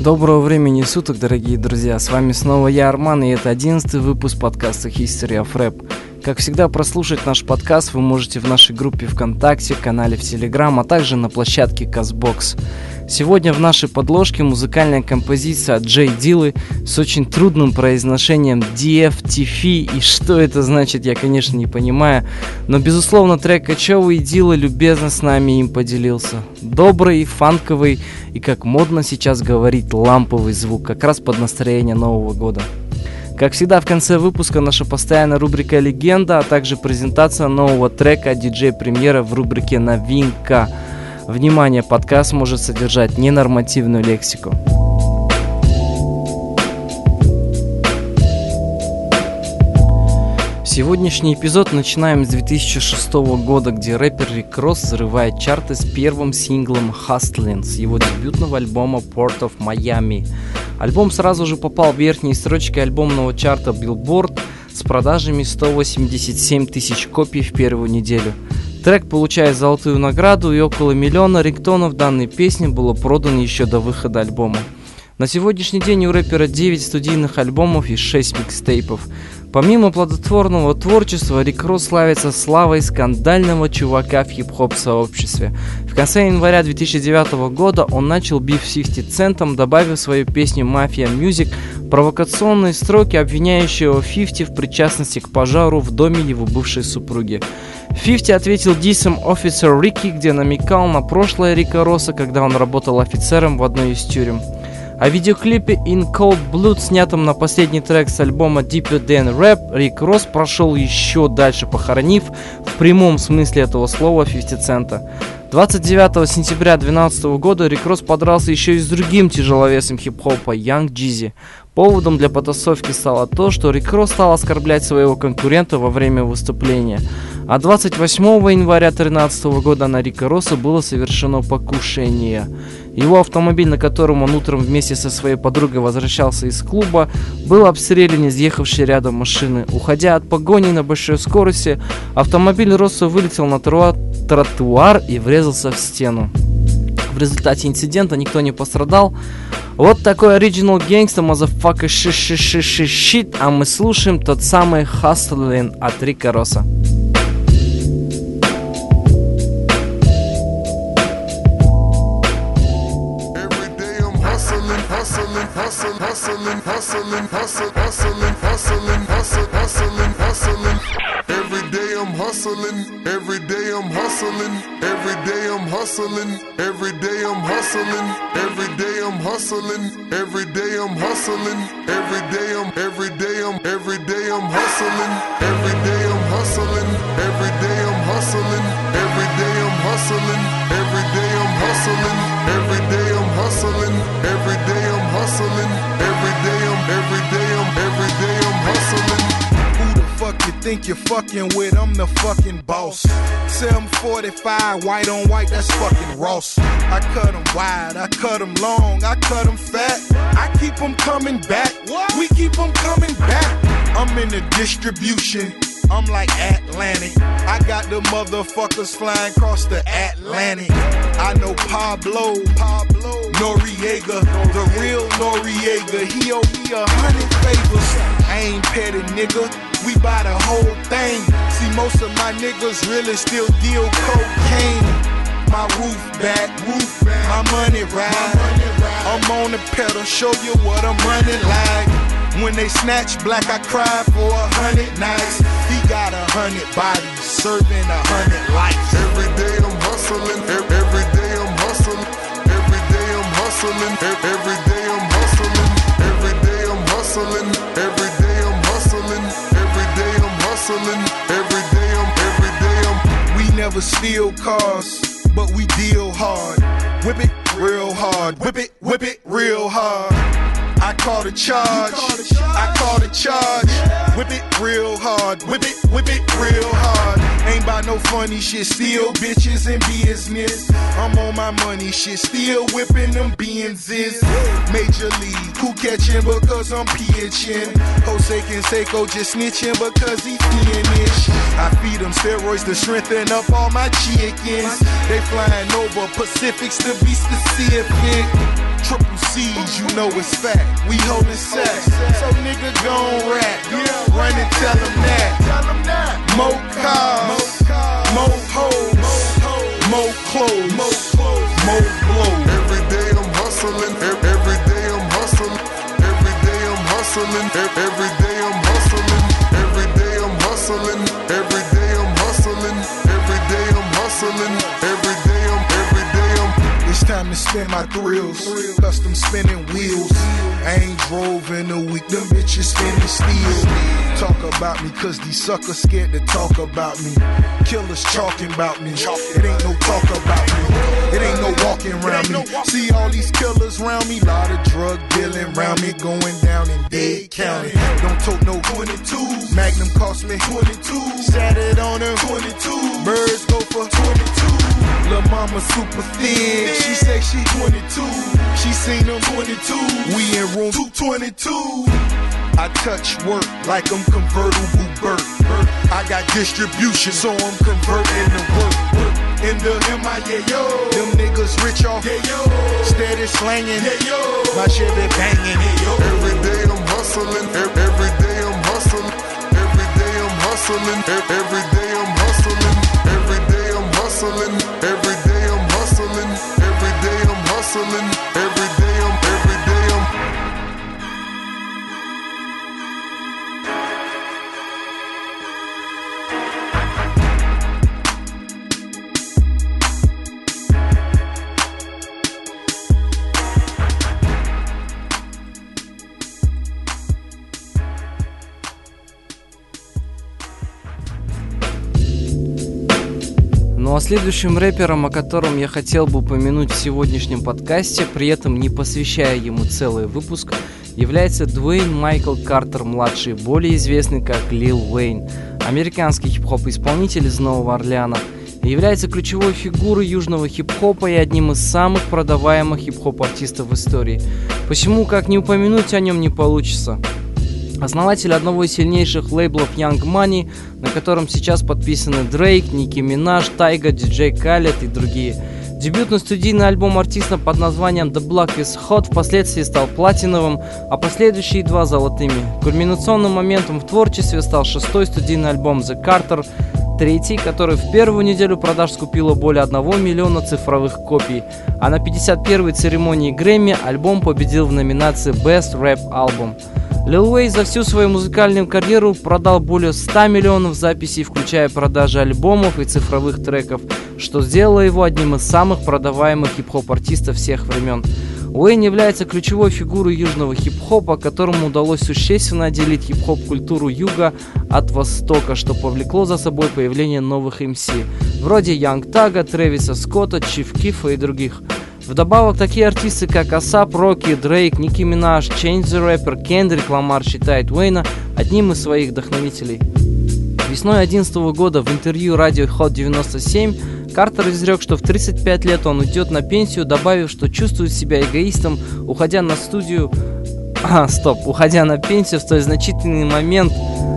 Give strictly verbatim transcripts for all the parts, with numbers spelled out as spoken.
Доброго времени суток, дорогие друзья, с вами снова я, Арман, и это одиннадцатый выпуск подкаста History of Rap. Как всегда, прослушать наш подкаст вы можете в нашей группе ВКонтакте, канале в Телеграм, а также на площадке Казбокс. Сегодня в нашей подложке музыкальная композиция от Джей Диллы с очень трудным произношением ди эф ти эф, и что это значит, я, конечно, не понимаю, но, безусловно, трек кочевый, и Дилла любезно с нами им поделился. Добрый, фанковый и, как модно сейчас говорить, ламповый звук, как раз под настроение Нового года. Как всегда, в конце выпуска наша постоянная рубрика «Легенда», а также презентация нового трека от диджей-премьера в рубрике «Новинка». Внимание, подкаст может содержать ненормативную лексику. Сегодняшний эпизод начинаем с две тысячи шестого года, где рэпер Рик Росс взрывает чарты с первым синглом «Hustlin» с его дебютного альбома «Port of Miami». Альбом сразу же попал в верхние строчки альбомного чарта Billboard с продажами сто восемьдесят семь тысяч копий в первую неделю. Трек получает золотую награду, и около миллиона рингтонов данной песни было продано еще до выхода альбома. На сегодняшний день у рэпера девять студийных альбомов и шесть микстейпов. Помимо плодотворного творчества, Рик Росс славится славой скандального чувака в хип-хоп сообществе. В конце января две тысячи девятого года он начал биф с фифти центом, добавив в свою песню «Mafia Music» провокационные строки, обвиняющие его фифти в причастности к пожару в доме его бывшей супруги. фифти ответил диссом «Officer Ricky», где намекал на прошлое Рика Росса, когда он работал офицером в одной из тюрем. О видеоклипе «In Cold Blood», снятом на последний трек с альбома Deeper Than Rap, Рик Росс прошел еще дальше, похоронив в прямом смысле этого слова фифти цента. двадцать девятого сентября две тысячи двенадцатого года Рик Росс подрался еще и с другим тяжеловесом хип-хопа Young Jeezy. Поводом для потасовки стало то, что Рик Росс стал оскорблять своего конкурента во время выступления. А двадцать восьмого января две тысячи тринадцатого года на Рика Росса было совершено покушение. Его автомобиль, на котором он утром вместе со своей подругой возвращался из клуба, был обстрелян из ехавшей рядом машины. Уходя от погони на большой скорости, автомобиль Росса вылетел на тротуар, тротуар и врезался в стену. В результате инцидента никто не пострадал. Вот такой оригинал гангста, motherfucker, ши-ши-ши-ши-щит, а мы слушаем тот самый Hustlin от Рика Росса. Hustling, hustling, hustling, hustling, hustling, hustling, hustling, hustling, hustling, hustling. Every day I'm hustling, every day I'm hustling, every day I'm hustling, every day I'm hustling, every day I'm hustling, every day I'm hustling, every day I'm, every day I'm, every day I'm hustling, every day I'm hustling, every day I'm hustling, every day I'm hustling, every day I'm hustling, every day I'm hustling, every day I'm hustling, every day I'm, every day I'm, every day I'm hustling. Who the fuck you think you're fucking with? I'm the fucking boss. seven forty-five, white on white, that's fucking Ross. I cut 'em wide, I cut 'em long, I cut 'em fat. I keep 'em coming back, we keep 'em coming back. I'm in the distribution, I'm like Atlantic. I got the motherfuckers flying across the Atlantic. I know Pablo, Pablo Noriega, the real Noriega. He owe me a hundred favors. I ain't petty, nigga. We buy the whole thing. See, most of my niggas really still deal cocaine. My roof back, roof back. My money ride. I'm on the pedal, show you what I'm running like. When they snatch black, I cry for a hundred nights. He got a hundred bodies, serving a hundred lives. Every day I'm hustling, every, every day I'm hustling, every day I'm hustling, every day I'm hustling, every day I'm hustling, every day I'm hustling, every day I'm hustling, every day I'm, every day I'm. We never steal cars, but we deal hard. Whip it real hard, whip it, whip it real hard. I call the charge, I call the charge. Whip it real hard, whip it, whip it real hard. Ain't about no funny shit, still bitches in business. I'm on my money shit, still whipping them Benzes. Major league, who catching because I'm pitching? Jose Canseco just snitching because he finished. I feed them steroids to strengthen up all my chickens. They flying over Pacifics to be specific. Triple seeds, you know it's fact. We holding sex, so nigga gon' rap. Run and tell them that. More cars, more hoes, more clothes, more blows. Every day I'm hustling, ev- every day I'm hustling, every day I'm hustling, ev- every day I'm hustling, every day I'm hustling, every day I'm hustling, every day I'm hustling, every day I'm, every day I'm. It's time to spin my thrills, custom spinning wheels. I ain't drove in a week, them bitches spinning steel. Talk about me, cause these suckers scared to talk about me. Killers talking about me, it ain't no talk about me. It ain't no walking around me. See all these killers around me, lot of drug dealing around me, going down in Dade County. Don't tote no twenty-twos, Magnum cost me twenty-two. Sat it on them twenty-two, birds go for twenty-two. Lil' mama super thin, she say she twenty-two. She seen them twenty-two, we in room two twenty-two. I touch work like I'm convertible Burt. I got distribution, so I'm converting to work. In the M I A yo, them niggas rich off, yeah, yo. Steady slanging, yeah, yo. My shit be banging, yeah, yo. Every day I'm hustling, ev- every day I'm hustling, every day I'm hustling, ev- every day I'm hustling, every day I'm hustling, every day I'm hustling, every day I'm hustling, every day I'm, every day I'm. Ну а следующим рэпером, о котором я хотел бы упомянуть в сегодняшнем подкасте, при этом не посвящая ему целый выпуск, является Дуэйн Майкл Картер-младший, более известный как Лил Уэйн, американский хип-хоп-исполнитель из Нового Орлеана, и является ключевой фигурой южного хип-хопа и одним из самых продаваемых хип-хоп-артистов в истории. Почему, как не упомянуть о нем, не получится? Основатель одного из сильнейших лейблов Young Money, на котором сейчас подписаны Дрейк, Ники Минаж, Тайга, Диджей Калед и другие. Дебютный студийный альбом артиста под названием The Block is Hot впоследствии стал платиновым, а последующие два золотыми. Кульминационным моментом в творчестве стал шестой студийный альбом The Carter, третий, который в первую неделю продаж скупило более одного миллиона цифровых копий, а на пятьдесят первой церемонии Грэмми альбом победил в номинации Best Rap Album. Лил Уэйн за всю свою музыкальную карьеру продал более ста миллионов записей, включая продажи альбомов и цифровых треков, что сделало его одним из самых продаваемых хип-хоп-артистов всех времен. Уэйн является ключевой фигурой южного хип-хопа, которому удалось существенно отделить хип-хоп-культуру юга от востока, что повлекло за собой появление новых эм си, вроде Янг Тага, Трэвиса Скотта, Чиф Кифа и других. Вдобавок, такие артисты, как Асап Роки, Дрейк, Ники Минаж, Change the Rapper, Кендрик Ламар считает Уэйна одним из своих вдохновителей. Весной две тысячи одиннадцатого года в интервью радио Hot девяносто семь Картер изрек, что в тридцать пять лет он уйдет на пенсию, добавив, что чувствует себя эгоистом, уходя на студию... А, стоп, уходя на пенсию в столь значительный момент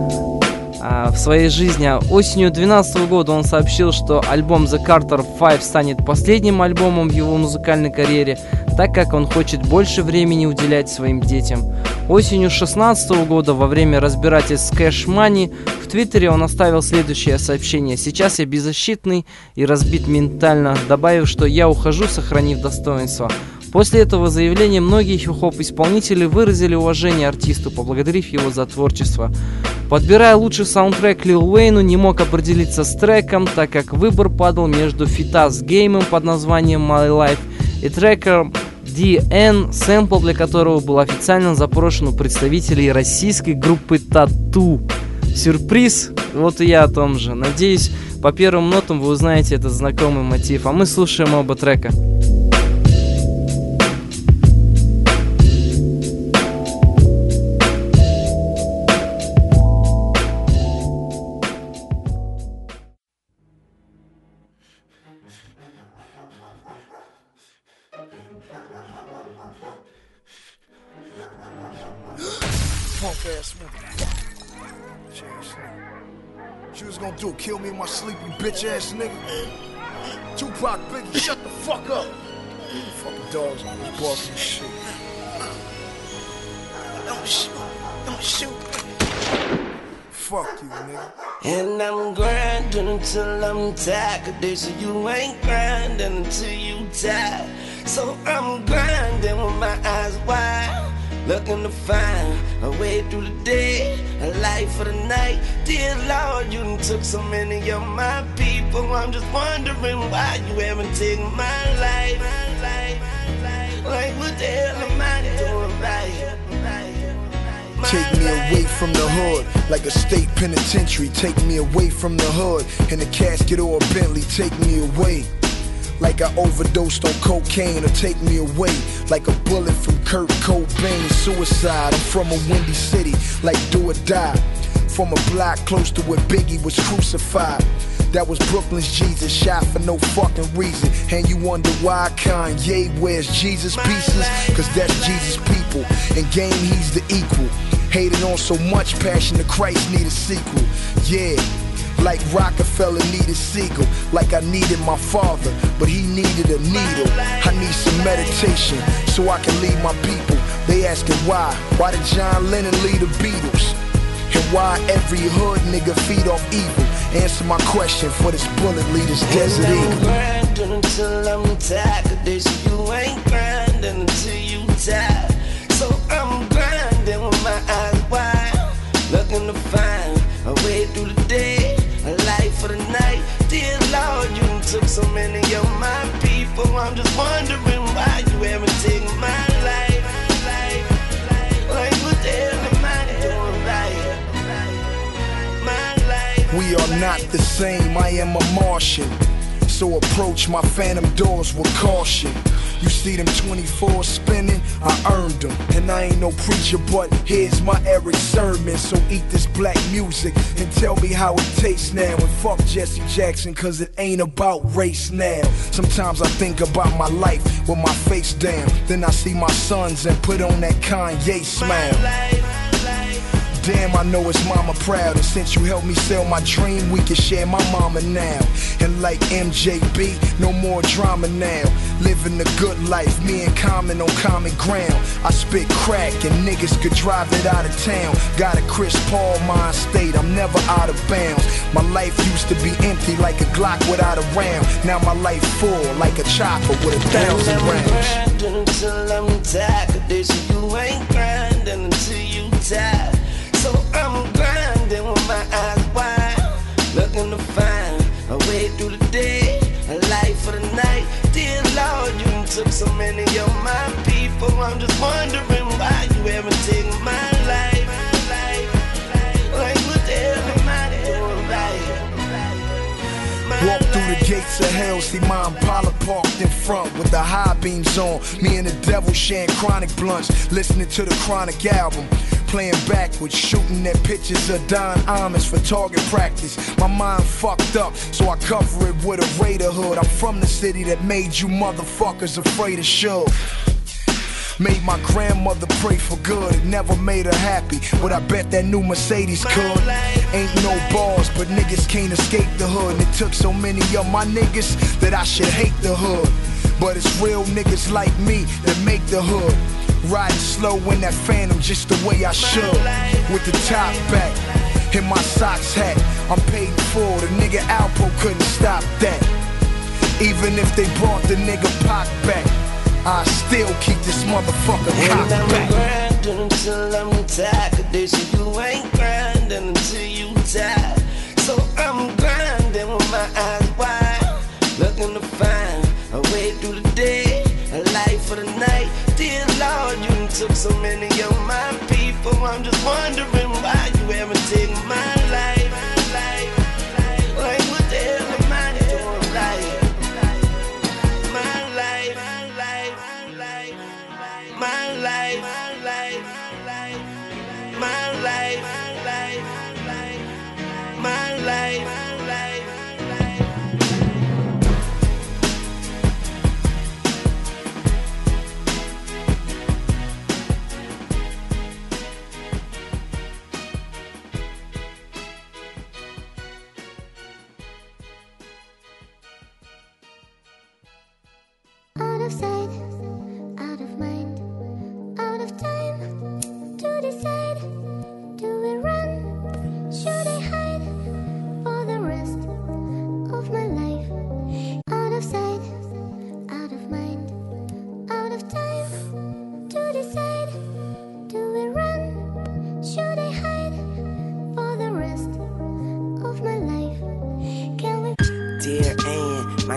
а, в своей жизни. А осенью две тысячи двенадцатого года он сообщил, что альбом The Carter пять станет последним альбомом в его музыкальной карьере, так как он хочет больше времени уделять своим детям. Осенью две тысячи шестнадцатого года, во время разбирательств с Cash Money, в Твиттере он оставил следующее сообщение: «Сейчас я беззащитный и разбит ментально», добавив, что «я ухожу, сохранив достоинство». После этого заявления многие хип-хоп-исполнители выразили уважение артисту, поблагодарив его за творчество. Подбирая лучший саундтрек Лил Уэйну, не мог определиться с треком, так как выбор падал между фита с Геймом под названием My Life и треком ди эн, сэмпл для которого был официально запрошен у представителей российской группы Тату. Сюрприз? Вот и я о том же. Надеюсь, по первым нотам вы узнаете этот знакомый мотив, а мы слушаем оба трека. She was gonna do, kill me in my sleep, you bitch ass nigga. Tupac, Biggie, shut the fuck up. Fucking dogs on this barking shit. shoot. Fuck you, nigga. And I'm grinding until I'm tired. Cause they say you ain't grinding until you tired. So I'm grinding with my eyes wide, looking to find a way through the day, a life for the night. Dear Lord, you done took so many of my people. I'm just wondering why you haven't taken my life. Like what the hell am I doing right? Take me away from the hood, like a state penitentiary. Take me away from the hood, in a casket or a Bentley. Take me away, like I overdosed on cocaine. Or take me away, like a bullet from Kurt Cobain. Suicide, I'm from a windy city, like do or die. From a block close to where Biggie was crucified. That was Brooklyn's Jesus, shot for no fucking reason. And you wonder why Kanye wears Jesus pieces? Cause that's Jesus' people, in game he's the equal. Hated on so much, Passion of Christ need a sequel. Yeah, like Rockefeller needed Siegel. Like I needed my father, but he needed a needle. I need some meditation, so I can lead my people. They asking why, why did John Lennon lead the Beatles? And why every hood nigga feed off evil? Answer my question for this bullet lead this Desert and Eagle. I'm grinding until I'm tired. Cause they say you ain't grinding until you tired. So I'm grinding with my eyes wide, looking to find a way through the day, a life for the night. Dear Lord, you done took so many of my people. I'm just wondering why you haven't taken my life. Like what the hell am I doing right? We are not the same, I am a Martian. So approach my phantom doors with caution. You see them twenty-fours spinning, I earned them. And I ain't no preacher, but here's my Eric sermon. So eat this black music and tell me how it tastes now. And fuck Jesse Jackson, cause it ain't about race now. Sometimes I think about my life with my face down. Then I see my sons and put on that Kanye smile. Damn, I know it's mama proud. And since you helped me sell my dream, we can share my mama now. And like M J B, no more drama now. Living the good life, me and Common on common ground. I spit crack and niggas could drive it out of town. Got a Chris Paul mind state, I'm never out of bounds. My life used to be empty like a Glock without a round. Now my life full like a chopper with a thousand rounds. I'm grinding until I'm tired. Cause they say you ain't grinding until you tired. So I'm grinding with my eyes wide, looking to find a way through the day, a life for the night. Dear Lord, you done took so many of my people. I'm just wondering why you haven't taken my life. Like what the hell am I doing right? Walk through the gates of hell, see my Impala parked in front with the high beams on. Me and the devil sharing chronic blunts, listening to the Chronic album. Playing backwards, shooting at pictures of Don Imus for target practice. My mind fucked up, so I cover it with a Raider hood. I'm from the city that made you motherfuckers afraid of Suge. Made my grandmother pray for good, it never made her happy, but I bet that new Mercedes could. Ain't no bars, but niggas can't escape the hood. And it took so many of my niggas that I should hate the hood. But it's real niggas like me that make the hood. Riding slow in that Phantom just the way I should. With the top back, in my socks hat. I'm paid in full, the nigga Alpo couldn't stop that. Even if they brought the nigga Pac back, I still keep this motherfucker cocked back. And I'm grinding until I'm tired. Cause they say you ain't grinding until you tired. So I'm grinding with my eyes wide, looking to find a way through the day, a life for the night. Dear Lord, you done took so many of my people. I'm just wondering why you haven't taken my life. Like what the hell am I doing right? My life, my life, my life, my life, my life, my life, my life, my life. Out of sight, out of mind, out of time.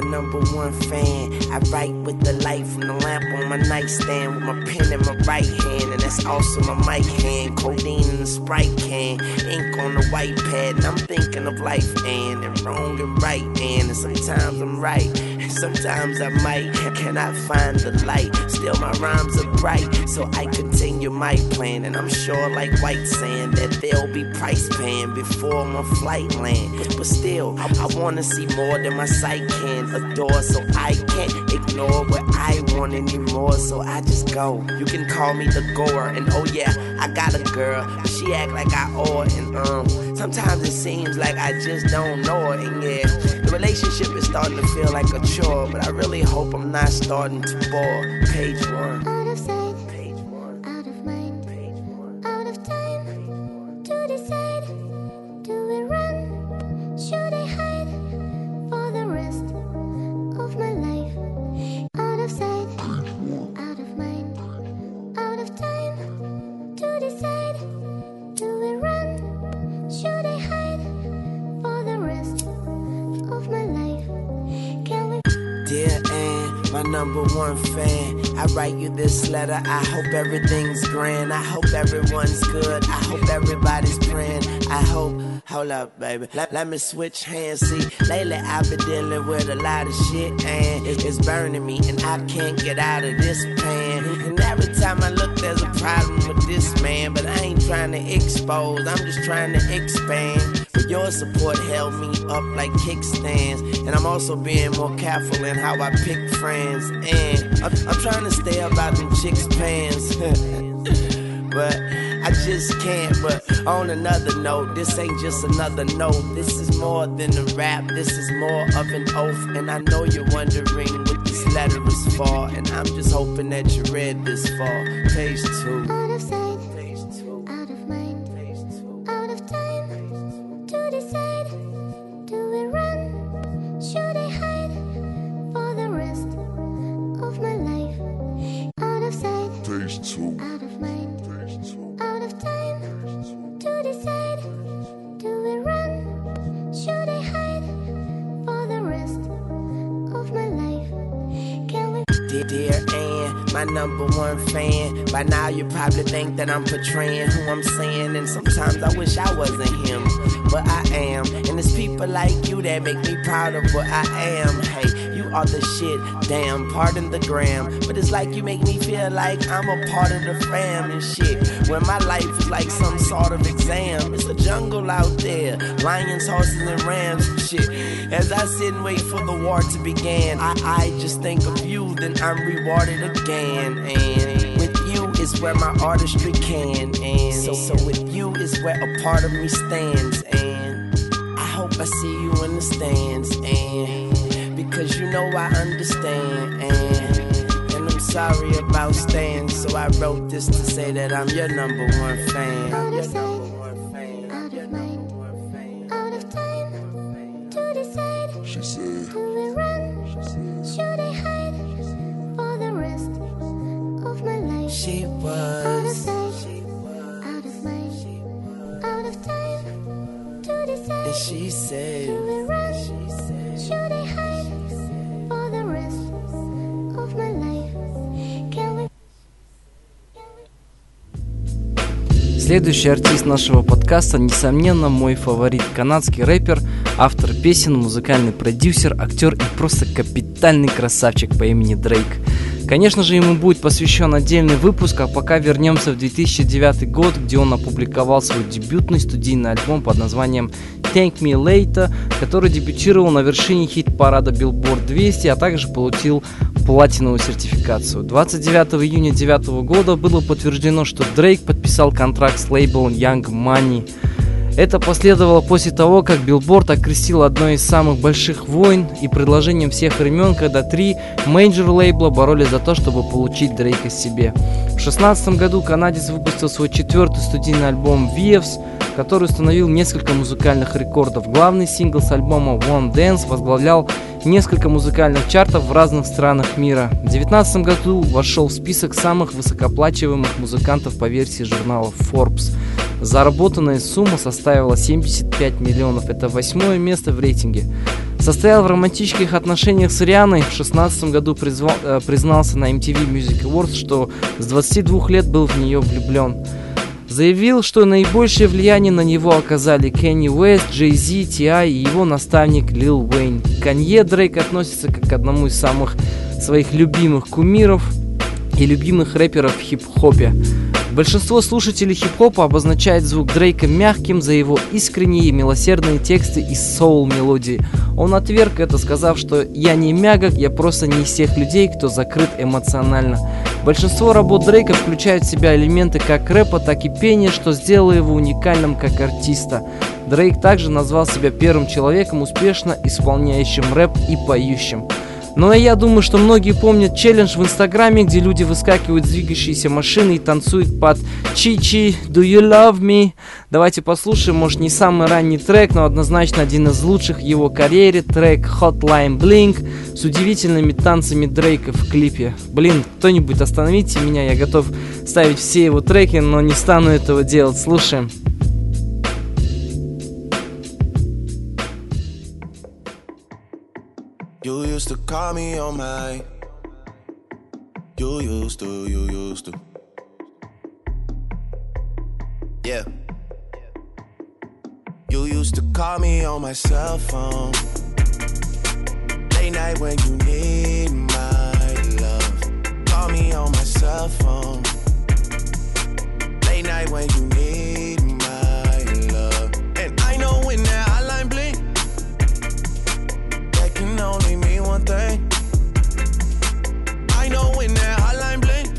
number one fan. I write with the light from the lamp on my nightstand, with my pen in my right hand, and that's also my mic hand. Codeine in the Sprite can, ink on the white pad, and I'm thinking of life and, and wrong and right and, and sometimes I'm right, and sometimes I might cannot find the light. Still my rhymes are bright, so I continue my plan, and I'm sure like white sand that there'll be price paying before my flight land. But, but still, I, I wanna see more than my sight can adore, so I can't ignore what I want anymore, so I just go. You can call me the goer, and oh yeah, I got a girl, but she act like I owe her, and um, sometimes it seems like I just don't know her, and yeah, the relationship is starting to feel like a chore, but I really hope I'm not starting to bore. Page one. Out of sight, page one. Out of mind, page one. Out of time to decide. Do we run? Should I hide for the rest of my life? Out of sight, out of mind, out of time to decide. Do we run? Should I hide for the rest of my life? Can we? Dear Ann, my number one fan, I write you this letter. I hope everything's grand. I hope everyone's good. I hope everybody's praying. I hope. Hold up, baby. Let, let me switch hands. See, lately I've been dealing with a lot of shit, and it, it's burning me, and I can't get out of this pan. And every time I look, there's a problem with this man, but I ain't trying to expose. I'm just trying to expand. But your support held me up like kickstands, and I'm also being more careful in how I pick friends. And I'm, I'm trying to stay about them chicks' pants. But I just can't. But on another note, this ain't just another note. This is more than a rap, this is more of an oath. And I know you're wondering what this letter is for, and I'm just hoping that you read this far. Page two. Out of sight, Page two. out of mind, Page two. out of time to decide. Do we run? Should I hide for the rest of my life? Out of sight, Page two. out of mind, Page two. out of time to decide. Do we run? Should I hide for the rest of my life? Can we? Dear, dear Ann, my number one fan. By now you probably think that I'm portraying who I'm saying, and sometimes I wish I wasn't him, but I am. And it's people like you that make me proud of what I am. Hey, you are the shit, damn, pardon the gram, but it's like you make me feel like I'm a part of the fam and shit. When my life is like some sort of exam, it's a jungle out there, lions, horses, and rams and shit. As I sit and wait for the war to begin, I, I just think of you, then I'm rewarded again. And with you is where my artistry can, and so, so with you is where a part of me stands. And I hope I see you in the stands, and because you know I understand, and and I'm sorry about staying, so I wrote this to say that I'm your number one fan. Out Your of number sight, one fan. out Your of number mind, one fan. out of time to decide. She said, Do we run? Should I hide for the rest of my life? She Out of was. sight, She was. out of mind, out of time to decide. And she said. Do we run? She said. Should I hide for the rest of my life? Can we? Следующий артист нашего подкаста, несомненно, мой фаворит, канадский рэпер, автор песен, музыкальный продюсер, актер и просто капитальный красавчик по имени Дрейк. Конечно же, ему будет посвящен отдельный выпуск, а пока вернемся в две тысячи девятый год, где он опубликовал свой дебютный студийный альбом под названием Thank Me Later, который дебютировал на вершине хит-парада Billboard двести, а также получил платиновую сертификацию. двадцать девятого июня две тысячи девятого года было подтверждено, что Дрейк подписал контракт с лейблом Young Money. Это последовало после того, как Billboard окрестил одной из самых больших войн и предложением всех времен, когда три мейджор-лейбла боролись за то, чтобы получить Дрейка себе. В две тысячи шестнадцатом году канадец выпустил свой четвертый студийный альбом Waves, который установил несколько музыкальных рекордов. Главный сингл с альбома One Dance возглавлял несколько музыкальных чартов в разных странах мира. В две тысячи девятнадцатом году вошел в список самых высокооплачиваемых музыкантов по версии журнала Forbes. Заработанная сумма составила семьдесят пять миллионов, это восьмое место в рейтинге. Состоял в романтических отношениях с Рианой. В шестнадцатом году призвал, э, признался на эм ти ви Music Awards, что с двадцати двух лет был в нее влюблен. Заявил, что наибольшее влияние на него оказали Кенни Уэст, Джей Зи, Ти Ай и его наставник Лил Уэйн. К Канье Дрейк относится как к одному из самых своих любимых кумиров и любимых рэперов в хип-хопе. Большинство слушателей хип-хопа обозначает звук Дрейка мягким за его искренние и милосердные тексты и соул-мелодии. Он отверг это, сказав, что «я не мягок, я просто не из тех людей, кто закрыт эмоционально». Большинство работ Дрейка включают в себя элементы как рэпа, так и пения, что сделало его уникальным как артиста. Дрейк также назвал себя первым человеком, успешно исполняющим рэп и поющим. Но я думаю, что многие помнят челлендж в Инстаграме, где люди выскакивают с двигающейся машины и танцуют под «Чи-чи, do you love me?». Давайте послушаем, может, не самый ранний трек, но однозначно один из лучших в его карьере, трек Hotline Bling с удивительными танцами Дрейка в клипе. Блин, кто-нибудь остановите меня, я готов ставить все его треки, но не стану этого делать. Слушаем. You used to call me on my. You used to, you used to. Yeah. You used to call me on my cell phone. Late night when you need my love. Call me on my cell phone. Late night when you need my love. And I know when that hotline blink, that can only mean one thing. I know when that hotline blink,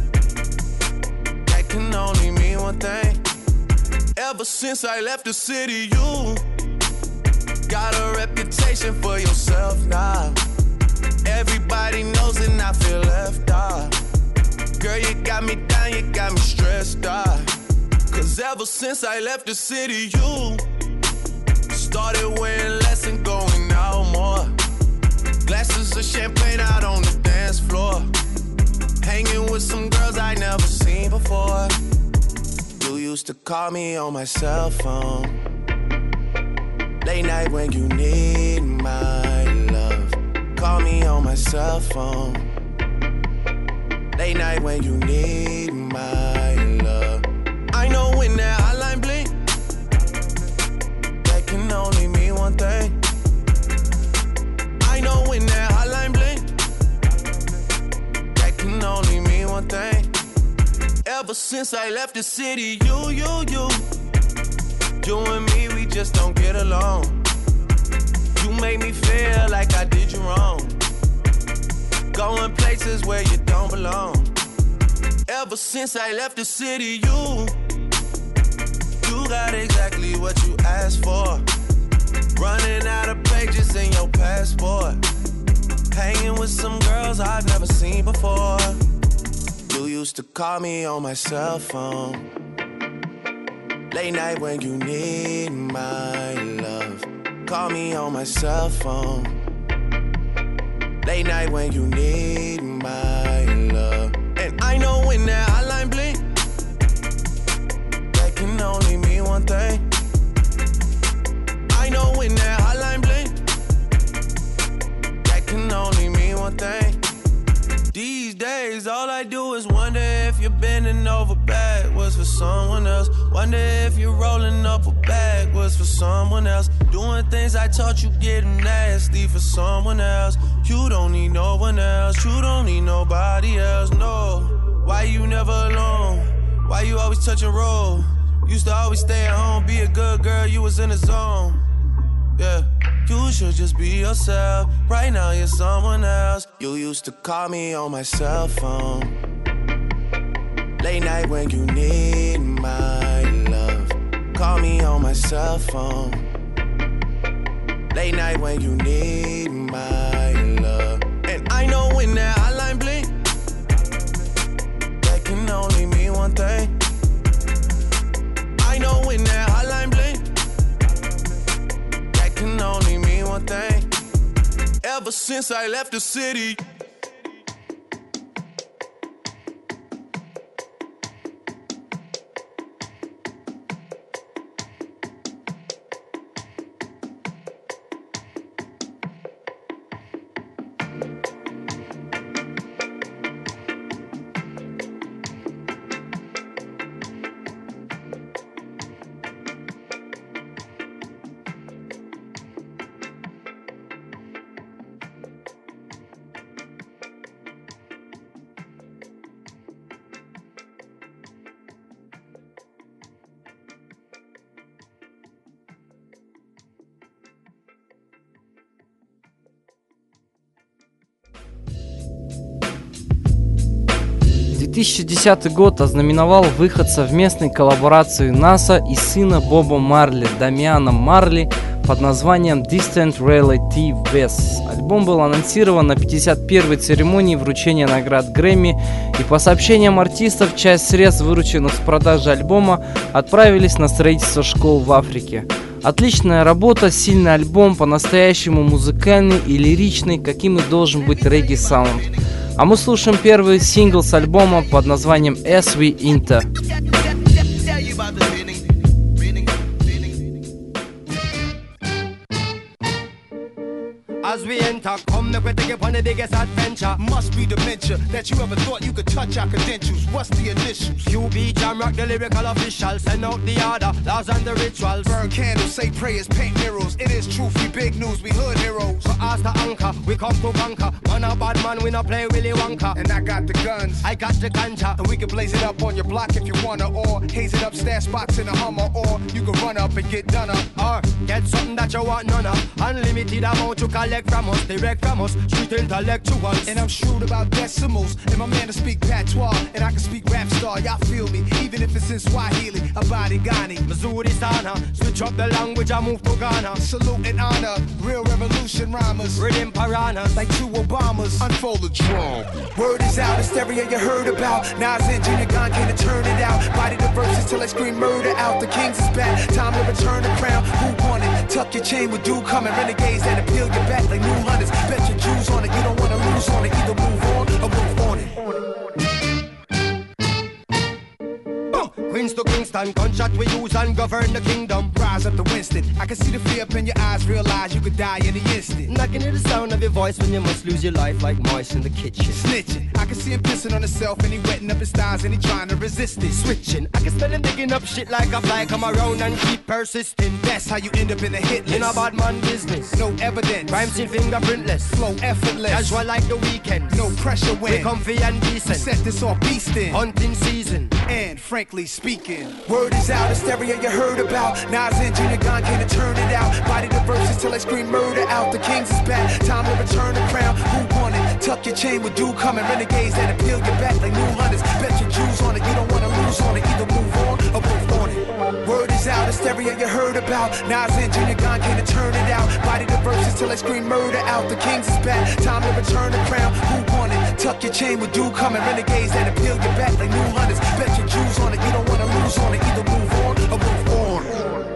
that can only mean one thing. Ever since I left the city, you got a reputation for yourself now. Everybody knows and I feel left out. Girl, you got me down, you got me stressed out. Cause ever since I left the city, you started wearing less and going out more. Glasses of champagne out on the dance floor. Hanging with some girls I never seen before. You used to call me on my cell phone. Late night when you need my love. Call me on my cell phone. Late night when you need my love. I know when that hotline blink, that can only mean one thing. I know when that hotline blink, that can only mean one thing. Ever since I left the city, you, you, you You and me, we just don't get along. You make me feel like I did you wrong. Going places where you don't belong. Ever since I left the city, you You got exactly what you asked for. Running out of pages in your passport. Hanging with some girls I've never seen before. You used to call me on my cell phone. Late night when you need my love. Call me on my cell phone. Late night when you need my love. And I know when that hotline blink, that can only mean one thing. I know when that hotline blink, that can only mean one thing. These days, all I do is wonder if you're bending over backwards for someone else. Wonder if you're rolling up a backwards for someone else. Doing things I taught you getting nasty for someone else. You don't need no one else. You don't need nobody else, no. Why you never alone? Why you always touch and roll? Used to always stay at home, be a good girl, you was in the zone. Yeah. You should just be yourself. Right now you're someone else. You used to call me on my cell phone. Late night when you need my love. Call me on my cell phone. Late night when you need my love. And I know when that hotline blink, that can only mean one thing. I know when that hotline blink, can only mean one thing. Ever since I left the city. тысячи десятый год ознаменовал выход совместной коллаборации НАСА и сына Боба Марли, Дамиана Марли, под названием Distant Reality West. Альбом был анонсирован на пятьдесят первой церемонии вручения наград Грэмми, и по сообщениям артистов, часть средств, вырученных с продажи альбома, отправились на строительство школ в Африке. Отличная работа, сильный альбом, по-настоящему музыкальный и лиричный, каким и должен быть регги-саунд. А мы слушаем первый сингл с альбома под названием As We Enter. As we enter, come make we take you on the biggest adventure. Must be dementia that you ever thought you could touch our credentials. What's the initials? Q B Jam Rock, the lyrical official. Send out the order, laws and the rituals. Burn candles, say prayers, paint murals. It is truth, we big news, we hood heroes. For us the anchor, we come to conquer. Man a bad man, we not play Willy Wonka. And I got the guns, I got the ganja. and we can blaze it up on your block if you wanna. Or haze it up, stash spots in a Hummer. Or you can run up and get done up. Or get something that you want none of. Unlimited amount you collect from us, direct from us, street intellectuals. And I'm shrewd about decimals, and my man to speak patois, and I can speak rap star, y'all feel me, even if it's in Swahili, Abadi Ghani, Missouri Sana, switch up the language, I move to Ghana. Salute and honor, real revolution rhymers, Rhythm piranhas, like two Obamas, unfold the drum. Word is out, hysteria you heard about, Nas and Junior Gong can't turn it out, body the verses till I scream murder out, the kings is back, time to return the crown, who won it, tuck your chain with dude coming, renegades that appeal your back like new hunters, bet your Jews on it, you don't wanna lose on it, either move on or move on it. Queens to Kingston, gunshot we use and govern the kingdom. Rise up to Winston, I can see the fear up in your eyes, realize you could die in the instant. I can hear the sound of your voice when you must lose your life like mice in the kitchen. Snitching, I can see him pissing on himself and he wetting up his thighs and he trying to resist it. Switching, I can smell him digging up shit like a fly, come around and keep persisting. That's how you end up in the hit list. In a bad man business, No evidence, crime scene fingerprintless, flow effortless, casual like the weekend. no pressure We when comfy and we decent, set this off beastin'. hunting season. And frankly speaking, word is out, hysteria you heard about. Nas and Junior Gong can't turn it out. Body the verses till I scream murder out. The kings is back, time to return the crown. Who won it? Tuck your chain with dude coming. Renegades that appeal your back like new hunters. Bet your Jews on it, you don't wanna lose on it. Either move on or move on it. Word is out, hysteria you heard about. Nas and Junior Gong can't turn it out. Body the verses till I scream murder out. The kings is back, time to return the crown. Who won it? Tuck your chain with dude coming. Renegades that appeal your back like new hunters. Bet your Jews on it, you don't wanna lose on it. Either move on or move on.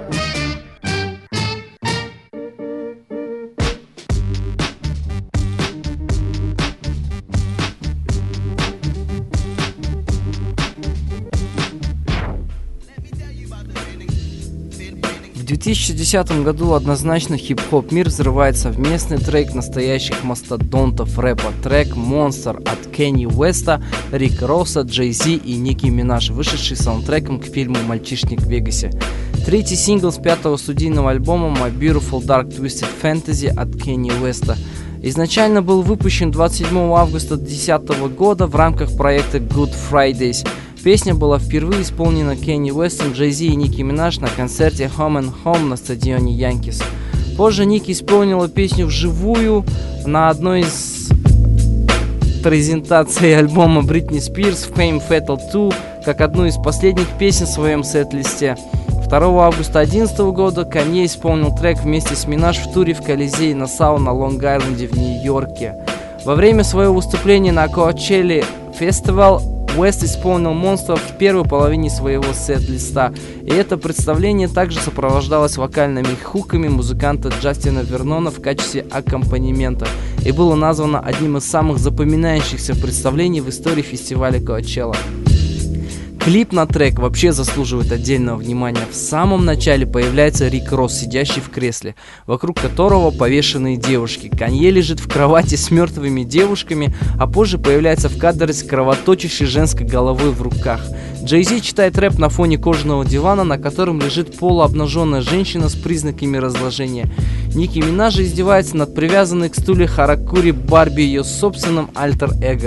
В две тысячи десятом году однозначно хип-хоп мир взрывает совместный трек настоящих мастодонтов рэпа. Трек «Monster» от Кенни Уэста, Рик Росса, Джей Зи и Ники Минаж, вышедший саундтреком к фильму «Мальчишник в Вегасе». Третий сингл с пятого студийного альбома «My Beautiful Dark Twisted Fantasy» от Кенни Уэста. Изначально был выпущен двадцать седьмого августа две тысячи десятого года в рамках проекта Good Fridays. Песня была впервые исполнена Кенни Уэстом, Джей Зи и Ники Минаж на концерте Home and Home на стадионе Янкис. Позже Ники исполнила песню вживую на одной из презентаций альбома Бритни Спирс Fame Fatal два как одну из последних песен в своем сет-листе. второго августа две тысячи одиннадцатого года Канье исполнил трек вместе с Минаж в туре в Колизее Нассау на Лонг-Айленде в Нью-Йорке. Во время своего выступления на Coachella Festival Уэст исполнил «Monster» в первой половине своего сет-листа, и это представление также сопровождалось вокальными хуками музыканта Джастина Вернона в качестве аккомпанемента и было названо одним из самых запоминающихся представлений в истории фестиваля Coachella. Клип на трек вообще заслуживает отдельного внимания. В самом начале появляется Рик Росс, сидящий в кресле, вокруг которого повешенные девушки. Канье лежит в кровати с мертвыми девушками, а позже появляется в кадре с кровоточащей женской головой в руках. Джей Зи читает рэп на фоне кожаного дивана, на котором лежит полуобнаженная женщина с признаками разложения. Ники Минаж издевается над привязанной к стуле Харакури Барби, ее собственным альтер-эго.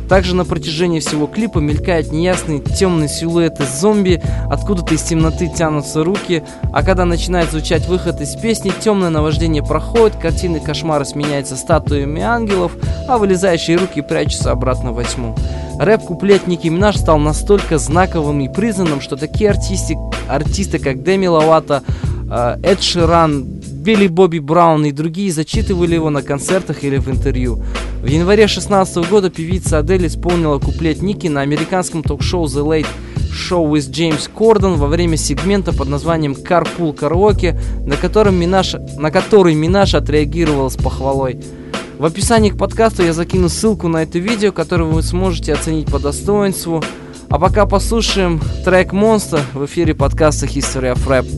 Также на протяжении всего клипа мелькают неясные темные силуэты зомби, откуда-то из темноты тянутся руки, а когда начинает звучать выход из песни, темное наваждение проходит, картины кошмара сменяются статуями ангелов, а вылезающие руки прячутся обратно во тьму. Рэп-куплет Ники Минаж стал настолько знаковым и признанным, что такие артисты, артисты как Деми Ловато, Эд Ширан, Билли Бобби Браун и другие зачитывали его на концертах или в интервью. В январе две тысячи шестнадцатого года певица Адель исполнила куплет Ники на американском ток-шоу The Late Show with James Corden во время сегмента под названием Carpool Karaoke, на, котором Минаж, на который Минаж отреагировала с похвалой. В описании к подкасту я закину ссылку на это видео, которое вы сможете оценить по достоинству. А пока послушаем трек Monster в эфире подкаста History of Rap.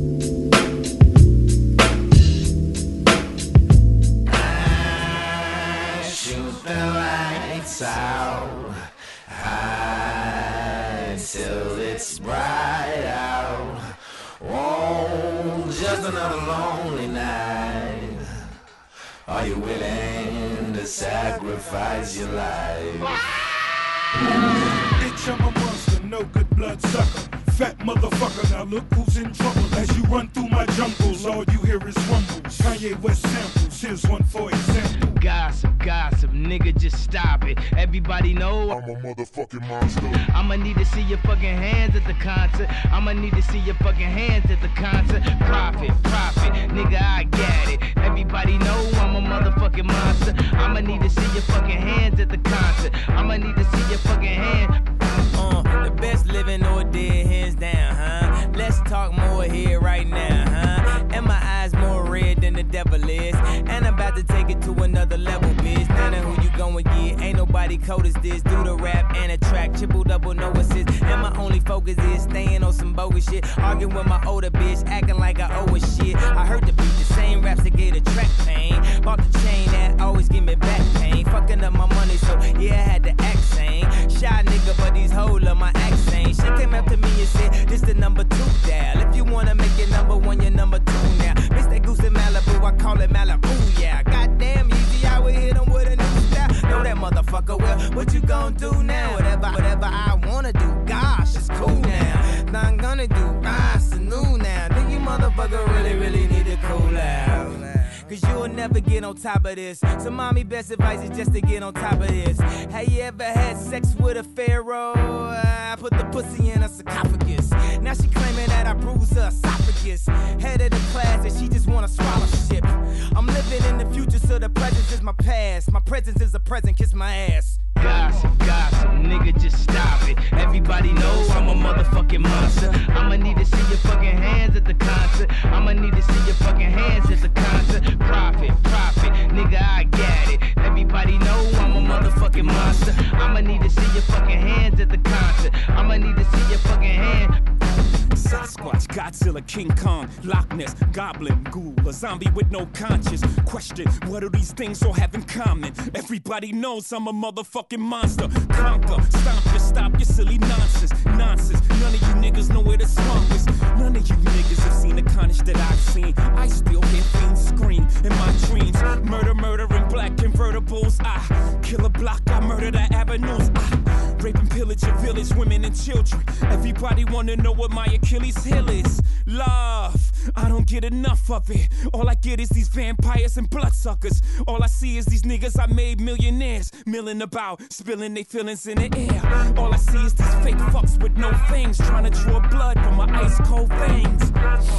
Out high till it's bright out. Oh, just another lonely night. Are you willing to sacrifice your life? Bitch, I'm a monster, no good blood sucker. Fat motherfucker, now look who's in trouble. As you run through my jungles, all you hear is rumbles. Kanye West samples, here's one for example. Gossip, gossip, nigga, just stop it. Everybody know I'm a motherfucking monster. I'ma need to see your fucking hands at the concert. I'ma need to see your fucking hands at the concert. Profit, profit, nigga, I get it. Everybody know I'm a motherfucking monster. I'ma need to see your fucking hands at the concert. I'ma need to see your fucking hands. Uh, the best living or dead, hands down, huh? Let's talk more here right now, huh? And my eyes more red than the devil is. And I'm about to take it to another level, bitch. None of who you going get, ain't nobody cold as this. Do the rap and a track, triple double, no assist. And my only focus is staying on some bogus shit. Arguing with my older bitch, acting like I owe a shit. I heard the beat, the same raps that gave the track pain. Bought the chain that always give me back pain. Fucking up my money, so yeah, I had to act sane. Shy nigga, but these hoes love my accent. She came up to me and said, this the number two dial. If you wanna make it number one, you're number two now. Miss that goose in Malibu, I call it Malibu, yeah. Goddamn easy, I would hit him with a new style. Know that motherfucker, well, what you gon' do now? Whatever, whatever I wanna do, gosh, it's cool now. Now I'm gonna do, ah, it's new now. Think you motherfucker really, really need to cool out. Cause you'll never get on top of this. So mommy, best advice is just to get on top of this. Have you ever had sex with a pharaoh? I put the pussy in her sarcophagus. Now she claiming that I bruised her esophagus. Head of the class and she just wanna swallow shit. I'm living in the future, so the present is my past. My presence is a present, kiss my ass. Gossip, gossip, nigga, just stop it. Everybody knows I'm a motherfucking monster. I'ma need to see your fucking hands at the concert. I'ma need to see your fucking hands at the concert. Profit, profit, nigga, I get it. Everybody know I'm a motherfucking monster. I'ma need to see your fucking hands at the concert. I'ma need to see your fucking hands. Sasquatch, Godzilla, King Kong, Loch Ness, Goblin, Ghoul, a zombie with no conscience. Question, what do these things all have in common? Everybody knows I'm a motherfucking monster. Conquer, stomp your, stop your silly nonsense. Nonsense, none of you niggas know where the swamp is. None of you niggas have seen the carnage that I've seen. I still hear fiends scream in my dreams. Murder, murder in black convertibles. I kill a block, I murder the avenues. I rape and pillage your village, women and children. Everybody wanna know what my Achilles heel is. Love, I don't get enough of it. All I get is these vampires and bloodsuckers. All I see is these niggas I made millionaires, milling about, spilling their feelings in the air. All I see is these fake fucks with no fangs, trying to draw blood from my ice cold veins.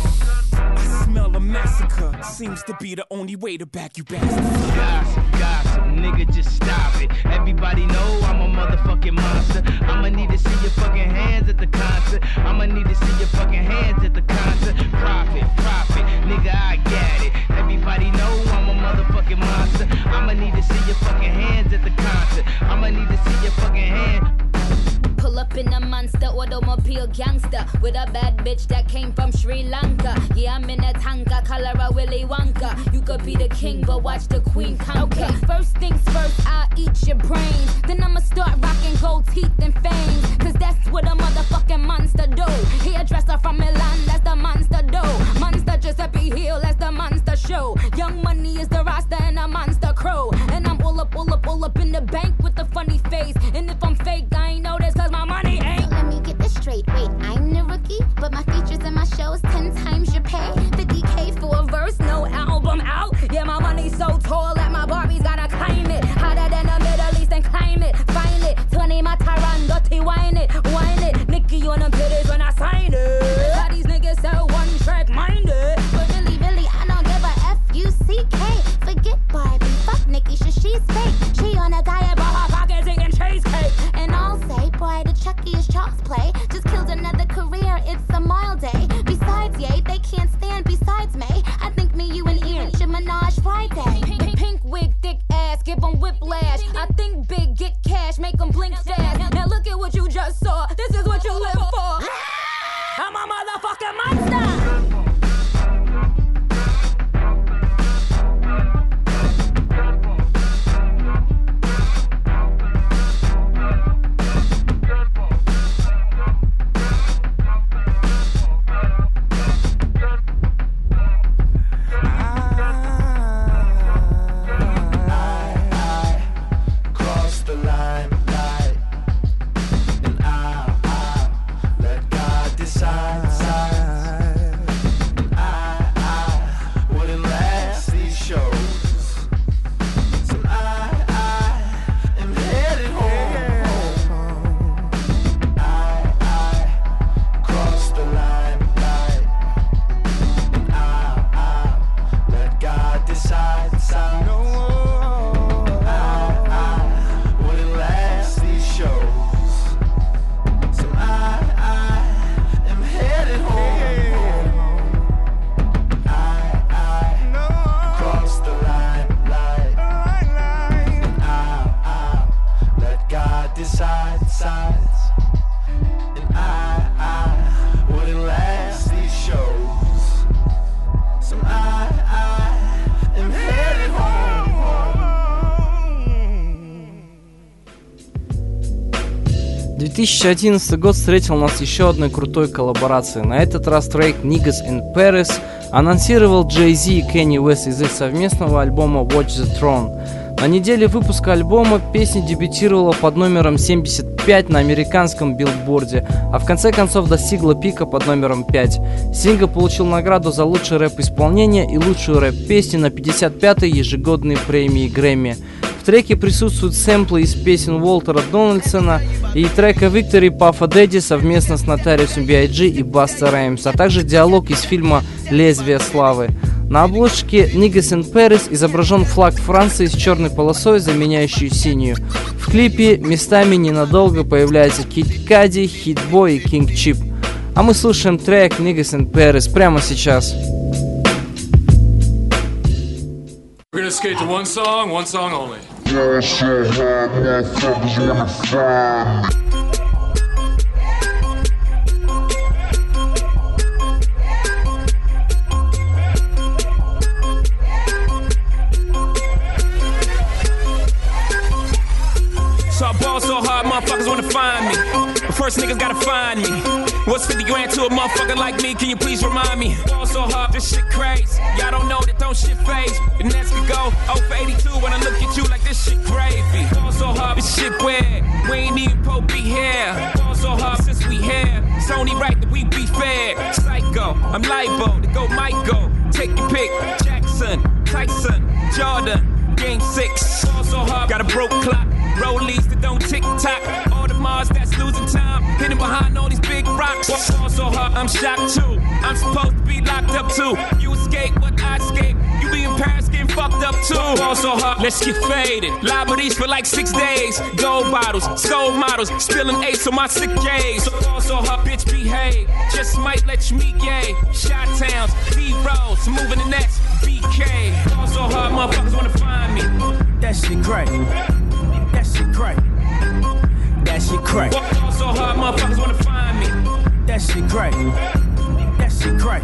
I smell a massacre, seems to be the only way to back you bastards. Gossip, gossip, nigga, just stop it. Everybody know I'm a motherfucking monster. I'ma need to see your fucking hands at the concert. I'ma need to see your fucking hands at the concert. Profit, profit, nigga, I get it. Everybody know I'm a motherfucking monster. I'ma need to see your fucking hands at the concert. I'ma need to see your fucking hands. Pull up in a monster automobile gangster with a bad bitch that came from Sri Lanka. Yeah, I'm in a tanka, color a Willy Wonka. You could be the king, but watch the queen conquer. Okay, first things first, I'll eat your brains. Then I'ma start rocking gold teeth and fangs. Cause that's what a motherfucking monster do. Hairdresser from Milan, that's the monster do. Monster Giuseppe Hill, that's the monster show. Young Money is the roster and a monster crew. And I'm all up, all up, all up in the bank with a funny face. And if I'm can't stand besides me. I think me, you, and Ian should menage Friday. Pink, pink wig, thick ass, give them whiplash. I think big, get cash, make them blink fast. Now look at what you just saw. This is what you live for. I'm a motherfucking monster. две тысячи одиннадцатый год встретил нас еще одной крутой коллаборацией. На этот раз трек Niggas in Paris анонсировал Jay-Z и Kanye West из их совместного альбома Watch the Throne. На неделе выпуска альбома песня дебютировала под номером семьдесят пять на американском билборде, а в конце концов достигла пика под номером пять. Сингл получил награду за лучшее рэп-исполнение и лучшую рэп-песню на пятьдесят пятой ежегодной премии Грэмми. В треке присутствуют сэмплы из песен Уолтера Дональдсона и трека Victory Puff Daddy совместно с Notorious би ай джи и Busta Rhymes, а также диалог из фильма «Лезвие славы». На обложке Niggas in Paris изображен флаг Франции с черной полосой, заменяющей синюю. В клипе местами ненадолго появляются Kid Cudi, Hit Boy и King Chip. А мы слушаем трек Niggas in Paris прямо сейчас. We're gonna skate to one song, one song only. So I ball so hard, motherfuckers wanna find me. But first niggas gotta find me. What's fifty grand to a motherfucker like me? Can you please remind me? Ball so hard, this shit crazy. Y'all don't know that don't shit phase. The next could go oh for eighty-two when I look at you like this shit gravy. Ball so hard, this shit weird. We ain't even po be here. Ball so hard since we here. It's only right that we be fair. Psycho, I'm libo to go Michael. Take your pick. Jackson, Tyson, Jordan, game six. Ball so hard, got a broke clock. Rollies that don't tick-tock. All the Mars that's losing time. Hidden behind all these big rocks. Fall so hard, I'm shocked too. I'm supposed to be locked up too. You escape, but I escape. You be in Paris getting fucked up too. Fall so hard, let's get faded. Liberties for like six days. Gold bottles, skull models. Spilling ace on my sick days. So fall so hard, bitch behave. Just might let you meet gay. Shot towns, B-rolls, moving the next B K. Fall so hard, motherfuckers wanna find me. That shit crack. That shit crack. That shit crack. Fall so hard, motherfuckers wanna find me. That shit crack. That shit crack.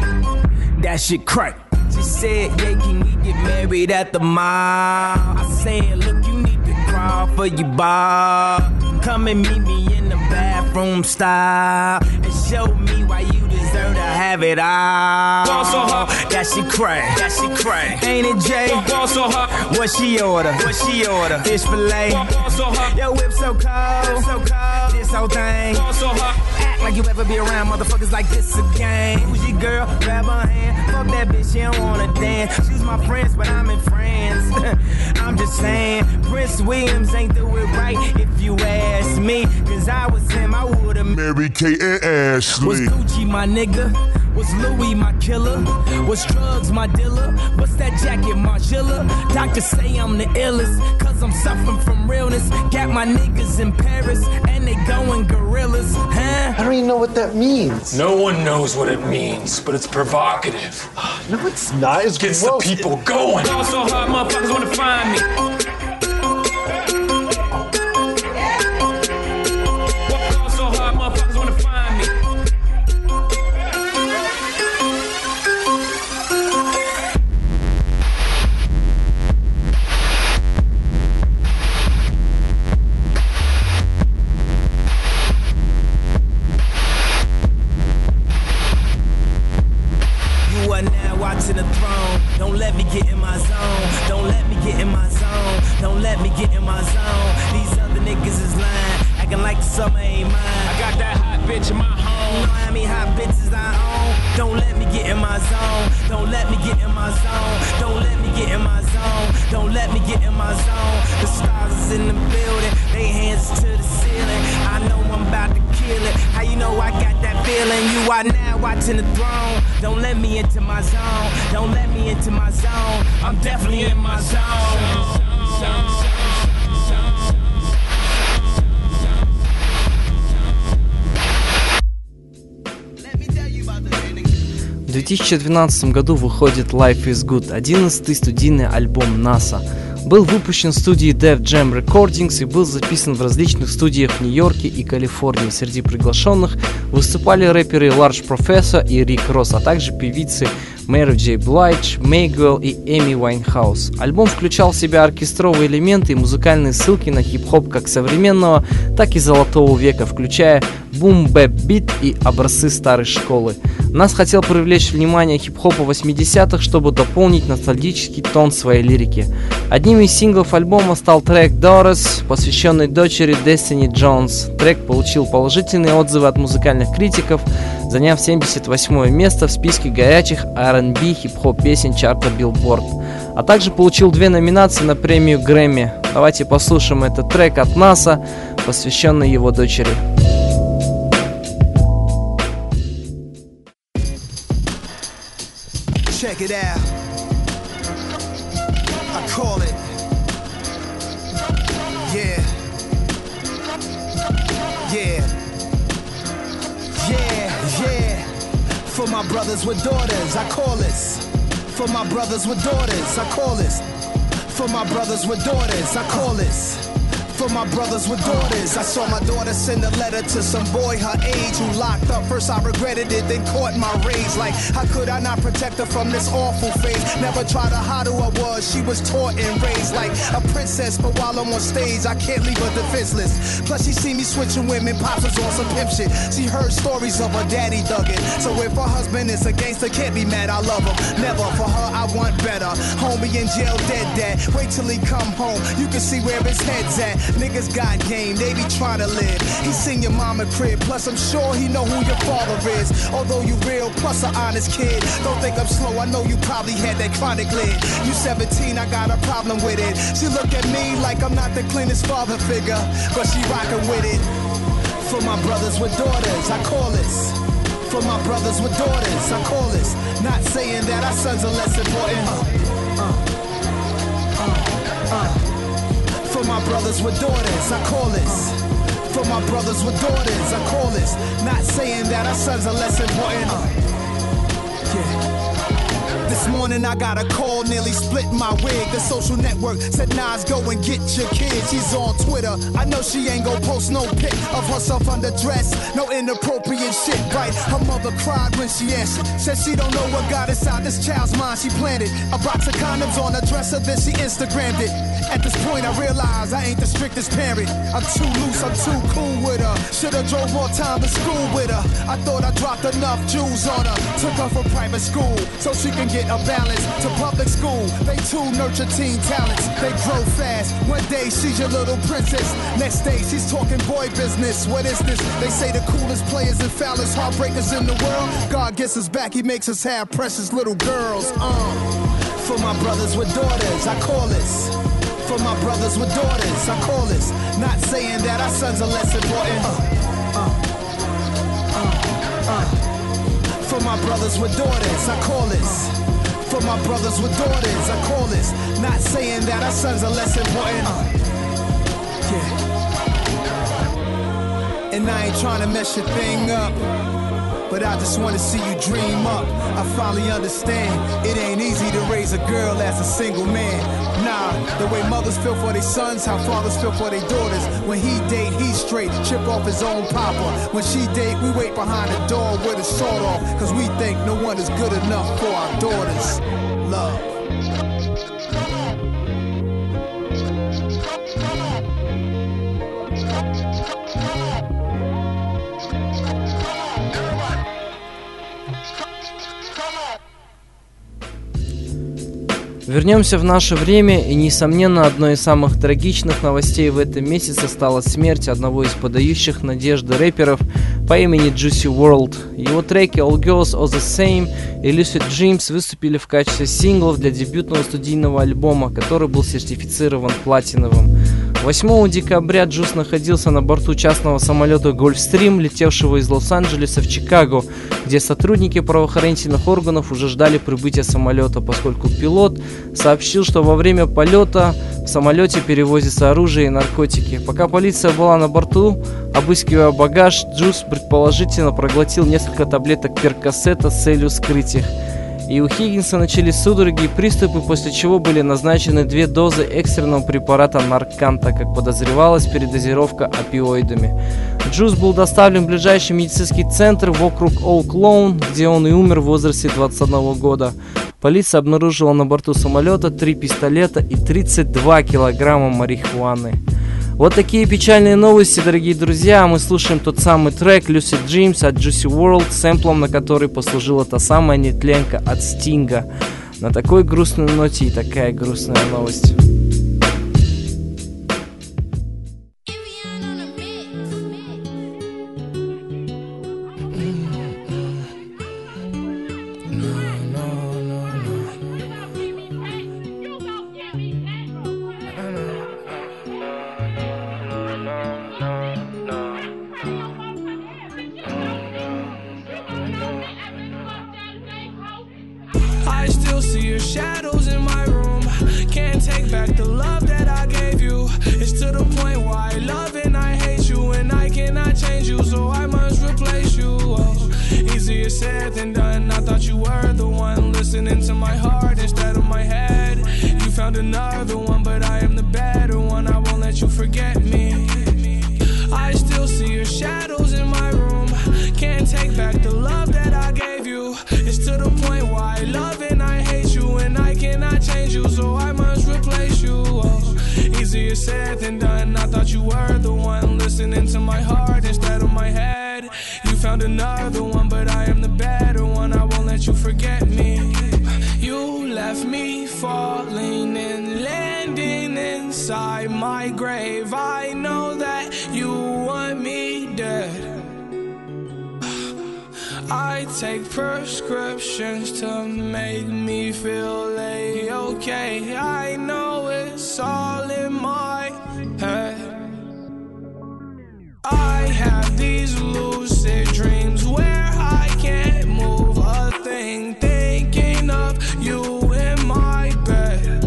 That shit crack. She said, yeah, can we get married at the mall? I said, look, you need to crawl for your bar. Come and meet me in the bathroom style and show me why you deserve to have it all. Fall so hard. That shit crack. That shit crack. Ain't it, Jay? Fall so hard. What she order? What she order? Fish fillet. Fall so hard. Yo, whip so cold. So cold. This whole thing. Fall so hard. Act like you ever be around motherfuckers like this again. Who's your girl? Grab her hand. Fuck that bitch, she don't wanna dance. She's my friends, but I'm in France. I'm just saying, Prince Williams ain't do it right if you ask me. Cause I was him, I would've Mary Kate and Ashley. Was Gucci my nigga? Was Louis my killer? Was drugs my dealer? What's that jacket, Margilla? Doctors say I'm the illest, cause I'm suffering from realness. Got my niggas in Paris, and they going gorillas, huh? I don't even know what that means. No one knows what it means, but it's provocative. No, it's not. It gets gross. the people going. Fall so hard, motherfuckers wanna find me. Fall so hard, motherfuckers wanna find me. To the throne, don't let me get in my zone. Don't let me get in my zone. Don't let me get in my zone. These other niggas is lying, acting like the summer ain't mine. I got that hot bitch in my home. You know how many hot bitches I own? Don't let me get in my zone. Don't let me get in my zone. Don't let me get in my zone. Don't let me get in my zone. The stars is in the building, they hands to the ceiling. I know I'm about to kill it. How you know I got that feeling? You are now watching the throne. Don't let me into my zone. Don't let me into my zone. I'm definitely in my zone. В две тысячи двенадцатом году выходит Life is Good, одиннадцатый студийный альбом NASA. Был выпущен в студии Def Jam Recordings и был записан в различных студиях в Нью-Йорке и Калифорнии. Среди приглашенных выступали рэперы Large Professor и Рик Росс, а также певицы Мэри Джей Блайдж, Мейгвелл и Эми Уайнхаус. Альбом включал в себя оркестровые элементы и музыкальные ссылки на хип-хоп как современного, так и золотого века, включая бум-бэп-бит и образцы старой школы. Нас хотел привлечь внимание хип-хопа восьмидесятых, чтобы дополнить ностальгический тон своей лирики. Одним из синглов альбома стал трек Doris, посвященный дочери Destiny Джонс. Трек получил положительные отзывы от музыкальных критиков, заняв семьдесят восьмое место в списке горячих ар энд би хип-хоп песен чарта Billboard, а также получил две номинации на премию Грэмми. Давайте послушаем этот трек от NASA, посвященный его дочери. Check it out. I call it. Yeah. Yeah. Yeah, yeah. For my brothers with daughters, I call this. For my brothers with daughters, I call this. For my brothers with daughters, I call this. For my brothers with daughters, I saw my daughter send a letter to some boy her age who locked up. First I regretted it, then caught my rage. Like, how could I not protect her from this awful phase? Never tried to hide who I was, she was taught and raised like a princess. But while I'm on stage, I can't leave her defenseless. Plus she see me switching women, pops was on some pimp shit. She heard stories of her daddy thugging. So if her husband is a gangster, can't be mad, I love him. Never, for her I want better. Homie in jail, dead dad. Wait till he come home, you can see where his head's at. Niggas got game, they be trying to live. He seen your mama crib, plus I'm sure he know who your father is. Although you real, plus an honest kid. Don't think I'm slow, I know you probably had that chronic lid. You seventeen, I got a problem with it. She look at me like I'm not the cleanest father figure, but she rockin' with it. For my brothers with daughters, I call this. For my brothers with daughters, I call this. Not saying that our sons are less important. Uh, uh, uh, uh. For my brothers with daughters, I call this. For my brothers with daughters, I call this. Not saying that our sons are less important. Uh, yeah. This morning I got a call, nearly split my wig. The social network said, Nas, go and get your kid. She's on Twitter. I know she ain't gon' post no pic of herself underdressed. No inappropriate shit, right? Her mother cried when she answered. Said she don't know what got inside this child's mind. She planted a box of condoms on her dresser, then she Instagrammed it. At this point I realize I ain't the strictest parent. I'm too loose, I'm too cool with her. Should've drove more time to school with her. I thought I dropped enough jewels on her. Took her from private school so she can get a balance to public school. They too nurture teen talents. They grow fast. One day she's your little princess. Next day she's talking boy business. What is this? They say the coolest players and foulest heartbreakers in the world. God gets us back, he makes us have precious little girls. Uh. For my brothers with daughters, I call this. For my brothers with daughters, I call this. Not saying that our sons are less important. Uh. Uh. Uh. Uh. For my brothers with daughters, I call this. For my brothers with daughters, I call this. Not saying that our sons are less important. Uh, yeah. And I ain't trying to mess your thing up, but I just wanna see you dream up. I finally understand it ain't easy to raise a girl as a single man. Nah, the way mothers feel for their sons, how fathers feel for their daughters. When he date, he's straight, chip off his own papa. When she date, we wait behind the door with a sword off, cause we think no one is good enough for our daughters. Love. Вернемся в наше время, и, несомненно, одной из самых трагичных новостей в этом месяце стала смерть одного из подающих надежды рэперов по имени Juicy World. Его треки All Girls Are The Same и Lucid Dreams выступили в качестве синглов для дебютного студийного альбома, который был сертифицирован платиновым. восьмого декабря Джус находился на борту частного самолета Gulfstream, летевшего из Лос-Анджелеса в Чикаго, где сотрудники правоохранительных органов уже ждали прибытия самолета, поскольку пилот сообщил, что во время полета в самолете перевозится оружие и наркотики. Пока полиция была на борту, обыскивая багаж, Джус предположительно проглотил несколько таблеток перкосета с целью скрыть их. И у Хиггинса начались судороги и приступы, после чего были назначены две дозы экстренного препарата Наркан, так как подозревалась передозировка опиоидами. Джус был доставлен в ближайший медицинский центр в округ Оук-Лоун, где он и умер в возрасте двадцати одного года. Полиция обнаружила на борту самолета три пистолета и тридцать два килограмма марихуаны. Вот такие печальные новости, дорогие друзья. Мы слушаем тот самый трек Lucid Dreams от Juicy World, сэмплом на который послужила та самая нетленка от Стинга. На такой грустной ноте и такая грустная новость. I still see your shadows in my room. Can't take back the love that I gave you. It's to the point where I love and I hate you, and I cannot change you, so I must replace you. Oh, easier said than done. I thought you were the one listening to my heart instead of my head. You found another one, but I am the better one. I won't let you forget me. I still see your shadows in my room. Can't take back the love that I gave you. It's to the point where I love and I hate you, and I cannot change you, so I must replace you. Oh, easier said than done. I thought you were the one listening to my heart instead of my head. You found another one, but I am the better one. I won't let you forget me. You left me falling and landing inside my grave. I know that you want me dead. I take prescriptions to make me feel A-okay. I know it's all in my head. I have these lucid dreams where I can't move a thing, thinking of you in my bed.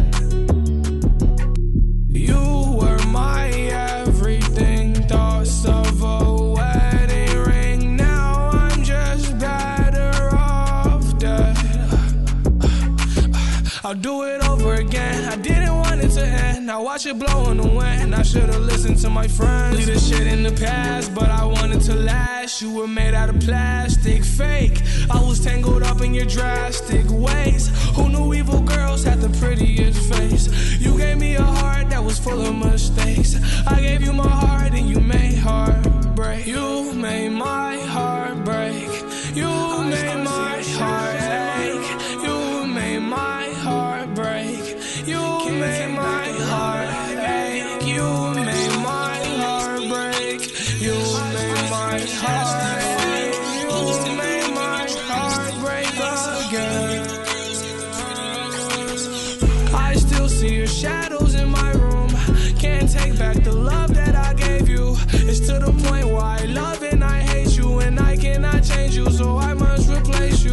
You were my everything, thoughts of a wedding ring. Now I'm just better off dead. I'll do it over again. I didn't want it to end. I watch it blow in the wind. I should've listened to my friends. Leave this shit in the past, but I wanted to last. You were made out of plastic, fake. I was tangled up in your drastic ways. Who knew evil girls had the prettiest face? You gave me a heart that was full of mistakes. I gave you my heart and you made heartbreak. You made my heart break. You made my heart ache. You made my heart break. You made my heart ache. You made my heart break. You made my heart ache. You made my heart break again. I still see your shadows in my room. Can't take back the love that I gave you. It's to the point where I love and I hate you, and I cannot change you, so I must replace you.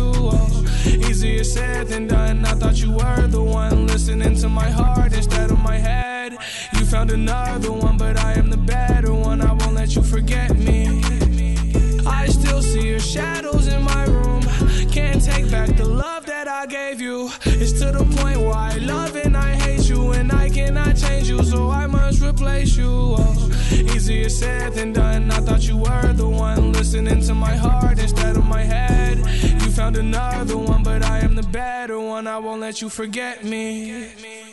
said than done. I thought you were the one listening to my heart instead of my head. You found another one, but I am the better one. I won't let you forget me. I still see your shadows in my room. Can't take back the love that I gave you. It's to the point where I love and I hate you, and I cannot change you, so I must replace you. Oh, easier said than done. I thought you were the one listening to my heart instead of my head. You found another one, but I am the better one. I won't let you forget me.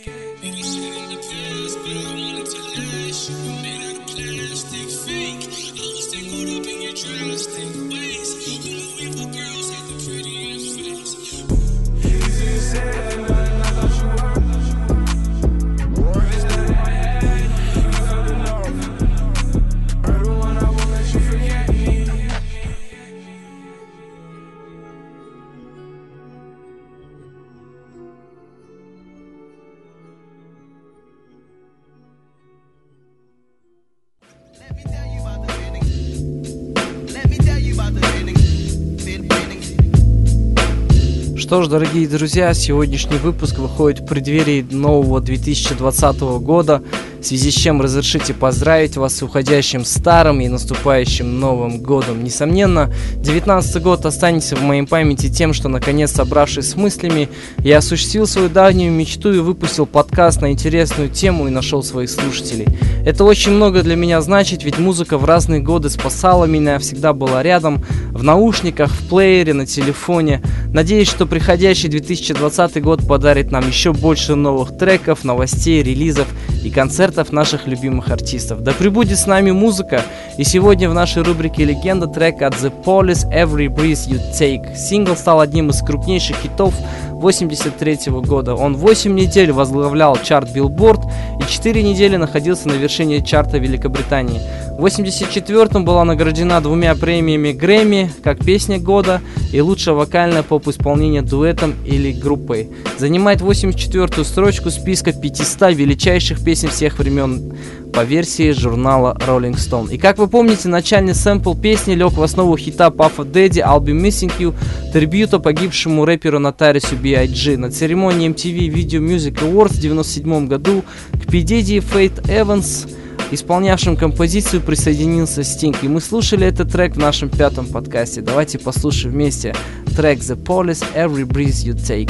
Что ж, дорогие друзья, сегодняшний выпуск выходит в преддверии нового две тысячи двадцатого года, в связи с чем разрешите поздравить вас с уходящим старым и наступающим Новым годом. Несомненно, девятнадцатый год останется в моей памяти тем, что, наконец, собравшись с мыслями, я осуществил свою давнюю мечту и выпустил подкаст на интересную тему и нашел своих слушателей. Это очень много для меня значит, ведь музыка в разные годы спасала меня, всегда была рядом, в наушниках, в плеере, на телефоне. Надеюсь, что приходящий две тысячи двадцатый год подарит нам еще больше новых треков, новостей, релизов и концертов наших любимых артистов. Да пребудет с нами музыка, и сегодня в нашей рубрике «Легенда» трек от The Police «Every Breath You Take». Сингл стал одним из крупнейших хитов восемьдесят третьего года. Он восемь недель возглавлял чарт Billboard и четыре недели находился на вершине чарта Великобритании. В восемьдесят четвёртом была награждена двумя премиями Грэмми как песня года и лучшее вокальное поп-исполнение дуэтом или группой. Занимает восемьдесят четвёртую строчку списка пятисот величайших песен всех времен по версии журнала Rolling Stone. И как вы помните, начальный сэмпл песни лег в основу хита Puff Daddy «I'll Be Missing You», трибьюта погибшему рэперу Notorious би ай джи. На церемонии эм ти ви Video Music Awards в девяносто седьмом году к P. Diddy и Faith Evans, исполнявшим композицию, присоединился Стинг. И мы слушали этот трек в нашем пятом подкасте. Давайте послушаем вместе трек The Police «Every Breath You Take».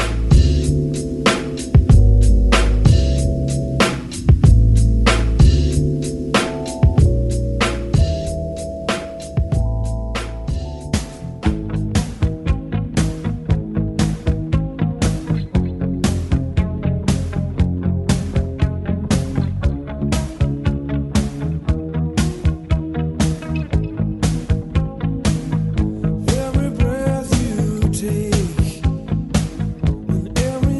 Every breath you take, and every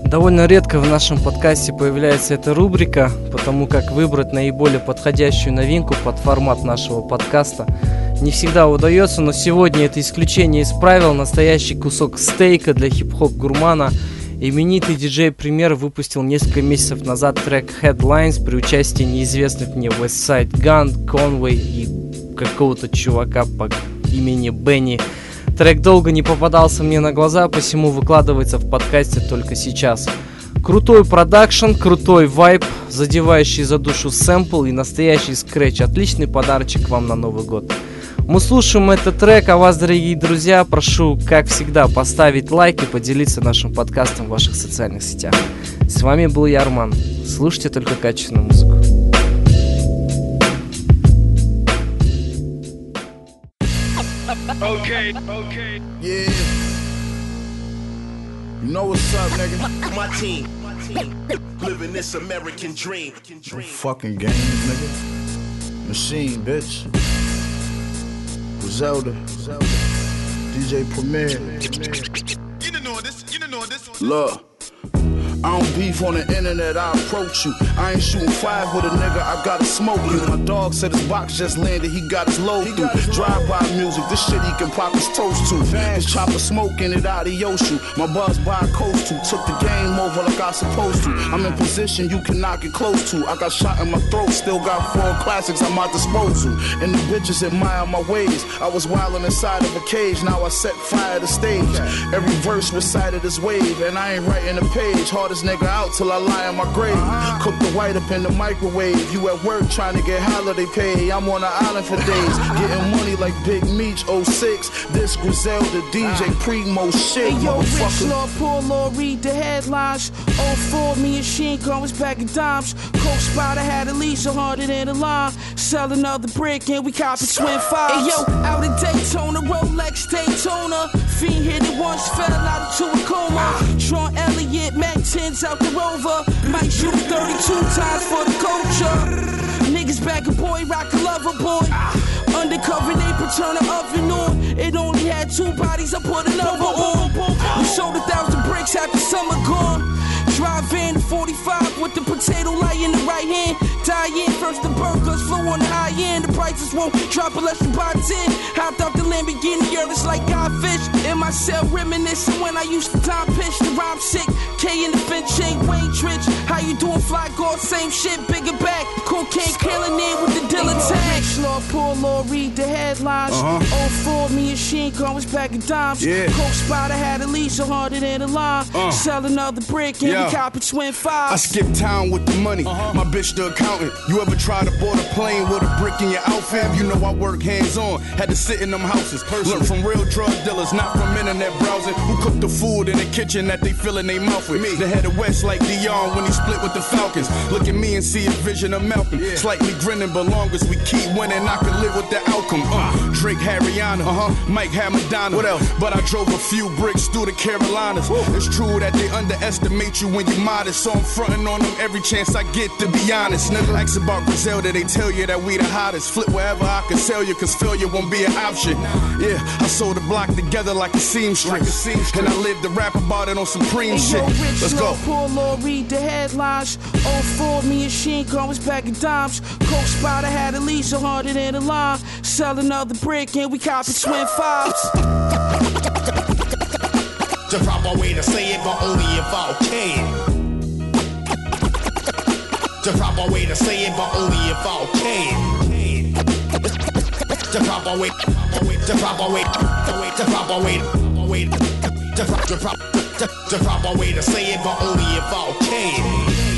Довольно редко в нашем подкасте появляется эта рубрика, потому как выбрать наиболее подходящую новинку под формат нашего подкаста не всегда удается, но сегодня это исключение из правил. Настоящий кусок стейка для хип-хоп гурмана. Именитый диджей Premier выпустил несколько месяцев назад трек Headlines при участии неизвестных мне Westside Gun, Conway и какого-то чувака по имени Бенни. Трек долго не попадался мне на глаза, посему выкладывается в подкасте только сейчас. Крутой продакшн, крутой вайб, задевающий за душу сэмпл и настоящий скретч. Отличный подарочек вам на Новый год. Мы слушаем этот трек, а вас, дорогие друзья, прошу, как всегда, поставить лайк и поделиться нашим подкастом в ваших социальных сетях. С вами был я, Арман. Слушайте только качественную музыку. Okay, okay. Yeah. You know what's up, nigga? My team, living this American dream. No fucking games, nigga. Machine, bitch. Zelda, D J Premier. You don't know this, you don't know this. Look. I don't beef on the internet, I approach you. I ain't shooting five with a nigga, I gotta smoke you. My dog said his box just landed, he got his load through. Drive-by music, this shit he can pop his toast to. His chopper smoking it out of Yoshu. My buzz by a coast to, took the game over like I supposed to. I'm in position you cannot get close to. I got shot in my throat, still got four classics at my disposal. And the bitches admire my ways. I was wildin' inside of a cage, now I set fire to stage. Every verse recited is wave, and I ain't writing a page. Hard this nigga out till I lie in my grave. Cook the white up in the microwave. You at work trying to get holiday pay. I'm on the island for days, getting money like Big Meech oh six. This Griselda D J Primo shit. Hey yo, Rich Lord, poor Lord, read the headlines. oh four, me and Sheen was back in dimes. Coke Spider had at least a hundred in the line. Sell another brick and we copy twin fives. Hey yo, out in Daytona, Rolex Daytona. Fiend hit it once, fell out into a coma. Sean Elliott, Mac tens out the Rover. Might shoot thirty-two times for the culture. Niggas back a boy, rock a lover boy. Undercover neighbor, turn the oven on. It only had two bodies, I put another on. We sold a thousand bricks after summer gone. Drive in forty-five with the potato light in the right hand. Die in first the burgers, flow on the high end. The prices won't drop unless you buy ten. Hopped off the Lamborghini, it's like Godfish. In my cell reminiscing when I used to time pitch. The rhyme sick, K in the Finch ain't Wayne Trich. How you doing, Fly God? Same shit, bigger back. Cocaine killing in with the Dilla tag. Rich Lord, poor Lord, read the headlines. Uh-huh. oh four, me and Sheen was back in dimes. Yeah. Coke Spider had at least a hundred in the line. Uh. Sell another brick and yeah. we copy twin fives. I skip town with the money. Uh-huh. My bitch the accountant. You ever try to board a plane with a brick in your outfit? You know I work hands on. Had to sit in them houses. Learn from real drug dealers, not from internet browsing. Who cook the food in the kitchen that they fill in their mouth with? Me. The head of West like Dion when he split with the Falcons. Look at me and see a vision of Malcolm. Yeah. Slightly grinning, but long as we keep winning, I can live with the outcome. Uh, Drake had Rihanna, uh-huh. Mike had Madonna. What else? But I drove a few bricks through the Carolinas. Woo. It's true that they underestimate you when you're modest, so I'm fronting on them every chance I get, to be honest. Nigga, ask about Griselda, they tell you that we the hottest. Flip wherever I can sell you, cause failure won't be an option. Yeah, I sold the block together like a seamstress, like a and I lived to rap about it on Supreme hey, shit. Yo, Rich Let's Lord, go. Poor Lord, read the headlines. oh four, me and Sheen was back in dimes. Coke Spider had at least a hundred in the line. Sell another brick and we copy twin fives. The proper way to say it, but only if I can. The proper way to say it, but only if I can. The proper way, the proper way, the proper way, the way, the proper way to say it, but only if I can.